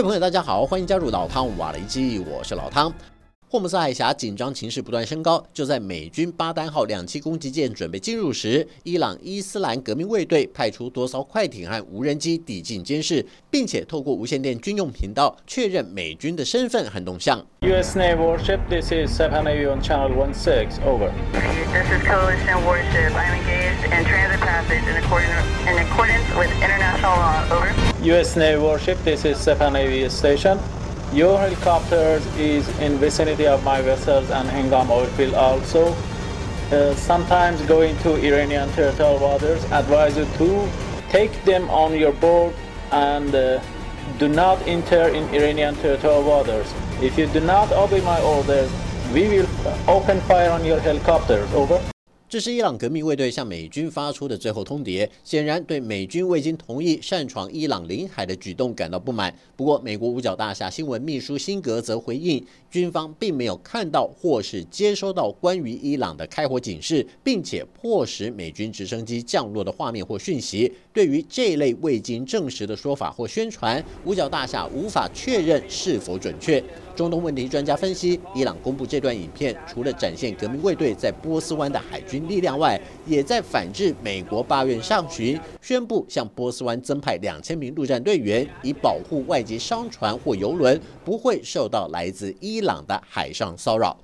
位朋友，大家好，欢迎加入老汤瓦雷基，我是老汤。霍姆斯海峡紧张情势不断升高，就在美军巴丹号2栖攻击舰准备进入时，伊朗伊斯兰革命卫队派出多艘快艇和无人机抵近监视，并且透过无线电军用频道确认美军的身份和动向。 U.S. Navy warship, this is Sepah Navy on Channel 16, over. This is Coalition warship. I am engaged in transit passage in accordance with international law, over. U.S. Navy warship, this is Sepah Navy station. Your helicopters is in vicinity of my vessels and Hengam oil field also. Sometimes going to Iranian territorial waters. Advise you to take them on your board and do not enter in Iranian territorial waters. If you do not obey my orders, we will open fire on your helicopters. Over. 这是伊朗革命卫队向美军发出的最后通牒，显然对美军未经同意擅闯伊朗领海的举动感到不满。不过，美国五角大厦新闻秘书辛格则回应，军方并没有看到或是接收到关于伊朗的开火警示，并且迫使美军直升机降落的画面或讯息。对于这类未经证实的说法或宣传，五角大厦无法确认是否准确。中东问题专家分析，伊朗公布这段影片，除了展现革命卫队在波斯湾的海军力量外，也在反制美国8月上旬宣布向波斯湾增派2000名陆战队员，以保护外籍商船或邮轮不会受到来自伊朗的海上骚扰。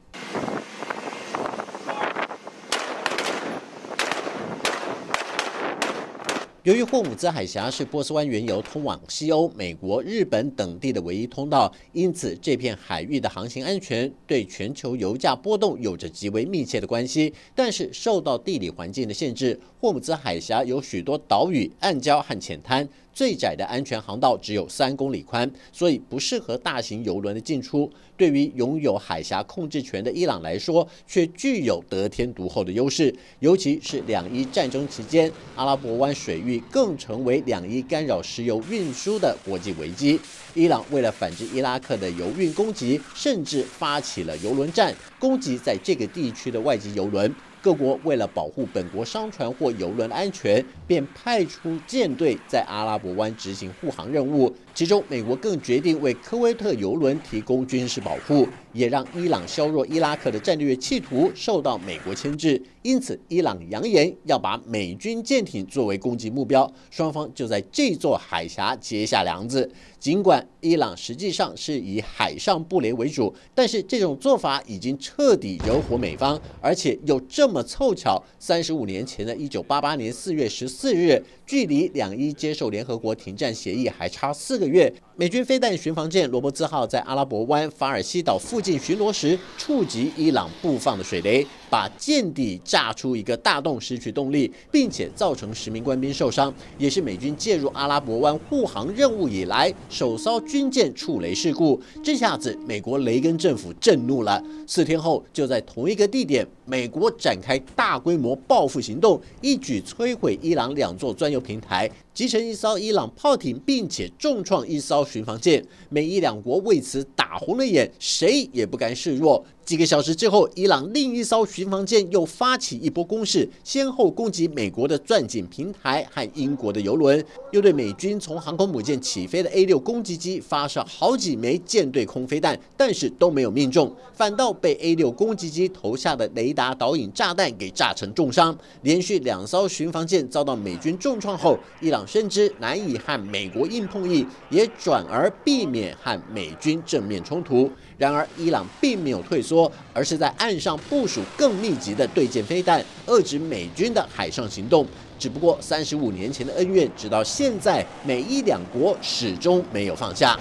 由于霍姆兹海峡是波斯湾原油通往西欧、美国、日本等地的唯一通道，因此这片海域的航行安全对全球油价波动有着极为密切的关系。但是受到地理环境的限制，霍姆兹海峡有许多岛屿、暗礁和浅滩，最窄的安全航道只有3公里宽，所以不适合大型油轮的进出。对于拥有海峡控制权的伊朗来说，却具有得天独厚的优势。尤其是两伊战争期间，阿拉伯湾水域更成为两伊干扰石油运输的国际危机。伊朗为了反制伊拉克的油运攻击，甚至发起了油轮战，攻击在这个地区的外籍油轮。各国为了保护本国商船或油轮安全，便派出舰队在阿拉伯湾执行护航任务。其中，美国更决定为科威特油轮提供军事保护，也让伊朗削弱伊拉克的战略企图受到美国牵制。因此，伊朗扬言要把美军舰艇作为攻击目标，双方就在这座海峡结下梁子。尽管伊朗实际上是以海上布雷为主，但是这种做法已经彻底惹火美方，而且又这么凑巧，35年前的1988年4月14日，距离两伊接受联合国停战协议还差4个月，美军飞弹巡防舰罗伯兹号在阿拉伯湾法尔西岛附近巡逻时，触及伊朗布放的水雷，把舰底炸出一个大洞，失去动力，并且造成10名官兵受伤，也是美军介入阿拉伯湾护航任务以来首艘军舰触雷事故。这下子，美国雷根政府震怒了。4天后，就在同一个地点，美国展开大规模报复行动，一举摧毁伊朗2座专油平台，击沉1艘伊朗炮艇，并且重创1艘巡防舰。美伊2国为此打红了眼，谁也不甘示弱。几个小时之后，伊朗另一艘巡防舰又发起一波攻势，先后攻击美国的钻井平台和英国的油轮，又对美军从航空母舰起飞的 A6 攻击机发射好几枚舰队空飞弹，但是都没有命中，反倒被 A6 攻击机投下的雷达导引炸弹给炸成重伤。连续2艘巡防舰遭到美军重创后，伊朗深知难以和美国硬碰硬，也转而避免和美军正面冲突。然而，伊朗并没有退缩，而是在岸上部署更密集的对舰飞弹，遏制美军的海上行动。只不过35年前的恩怨，直到现在，美伊2国始终没有放下。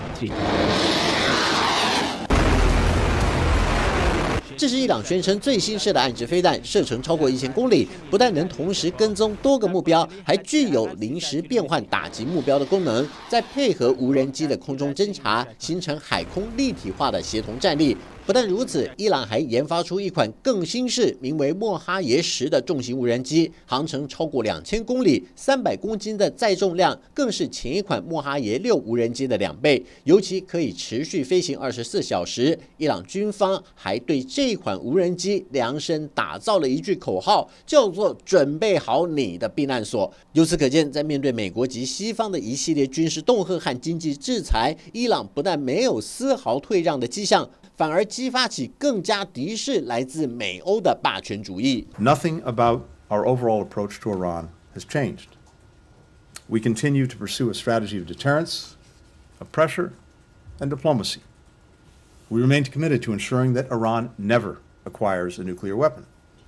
这是伊朗宣称最新式的岸置飞弹，射程超过1000公里，不但能同时跟踪多个目标，还具有临时变换打击目标的功能。再配合无人机的空中侦察，形成海空立体化的协同战力。 不但如此，伊朗还研发出一款更新式、名为莫哈耶10的重型无人机，航程超过2000公里，300公斤的载重量更是前一款莫哈耶6无人机的2倍，尤其可以持续飞行24小时。伊朗军方还对这款无人机量身打造了一句口号，叫做“准备好你的避难所”。由此可见，在面对美国及西方的一系列军事恫吓和经济制裁，伊朗不但没有丝毫退让的迹象，反而激发起更加敌视来自美欧的霸权主义。 Nothing about our overall approach to Iran has changed. We continue to pursue a strategy of deterrence, of pressure, and diplomacy. We remain committed to ensuring that Iran never acquires a nuclear weapon.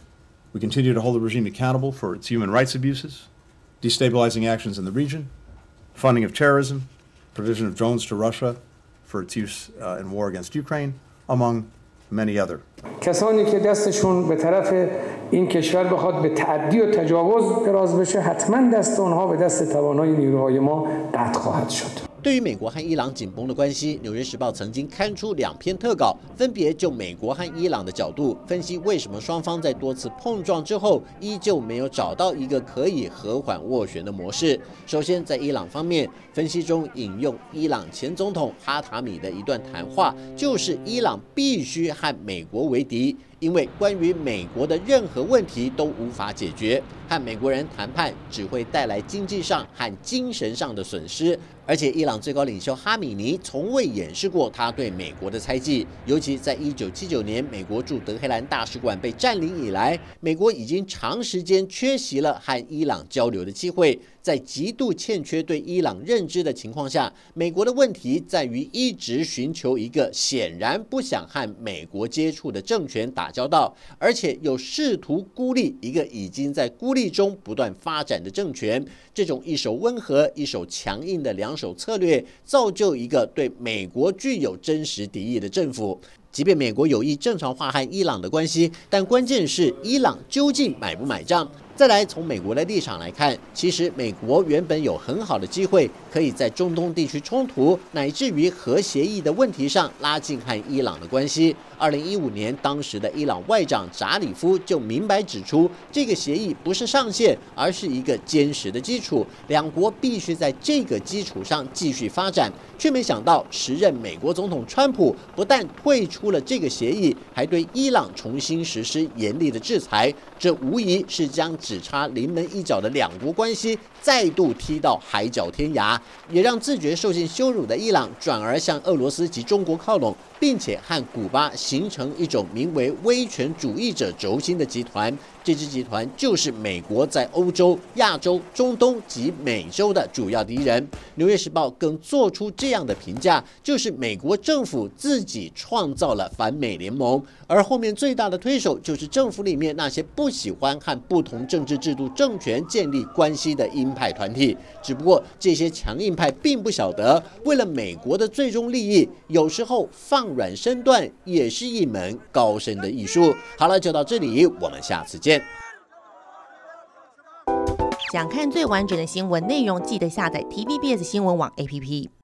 We continue to hold the regime accountable for its human rights abuses, destabilizing actions in the region, funding of terrorism, provision of drones to Russia for its use in war against Ukraine, among many other. کسانی که دستشون به طرف این کشور بخواد به تعدی و تجاوز دراز بشه حتما دست اونها به دست توانای نیروهای ما قطع خواهد شد. 对于美国和伊朗紧绷的关系，《纽约时报》曾经刊出2篇特稿，分别就美国和伊朗的角度分析为什么双方在多次碰撞之后，依旧没有找到一个可以和缓斡旋的模式。首先，在伊朗方面，分析中引用伊朗前总统哈塔米的一段谈话，就是伊朗必须和美国为敌。因为关于美国的任何问题都无法解决，和美国人谈判只会带来经济上和精神上的损失。而且，伊朗最高领袖哈米尼从未掩饰过他对美国的猜忌，尤其在1979年美国驻德黑兰大使馆被占领以来，美国已经长时间缺席了和伊朗交流的机会。在极度欠缺对伊朗认知的情况下，美国的问题在于一直寻求一个显然不想和美国接触的政权打交道，而且又试图孤立一个已经在孤立中不断发展的政权。这种一手温和、一手强硬的两手策略，造就一个对美国具有真实敌意的政府。即便美国有意正常化和伊朗的关系，但关键是伊朗究竟买不买账。再来，从美国的立场来看，其实美国原本有很好的机会，可以在中东地区冲突乃至于核协议的问题上拉近和伊朗的关系。2015年，当时的伊朗外长扎里夫就明白指出，这个协议不是上限，而是一个坚实的基础，两国必须在这个基础上继续发展。却没想到，时任美国总统川普不但退出了这个协议，还对伊朗重新实施严厉的制裁，这无疑是将只差临门一脚的两国关系再度踢到海角天涯，也让自觉受尽羞辱的伊朗转而向俄罗斯及中国靠拢，并且和古巴形成一种名为威权主义者轴心的集团。这支集团就是美国在欧洲、亚洲、中东及美洲的主要敌人。纽约时报更做出这样的评价，就是美国政府自己创造了反美联盟，而后面最大的推手就是政府里面那些不喜欢和不同政治制度政权建立关系的鹰派团体。只不过这些强硬派并不晓得，为了美国的最终利益，有时候放软身段也是一门高深的艺术。好了，就到这里，我们下次见。 想看最完整的新闻内容，记得下载 TVBS 新闻网 APP。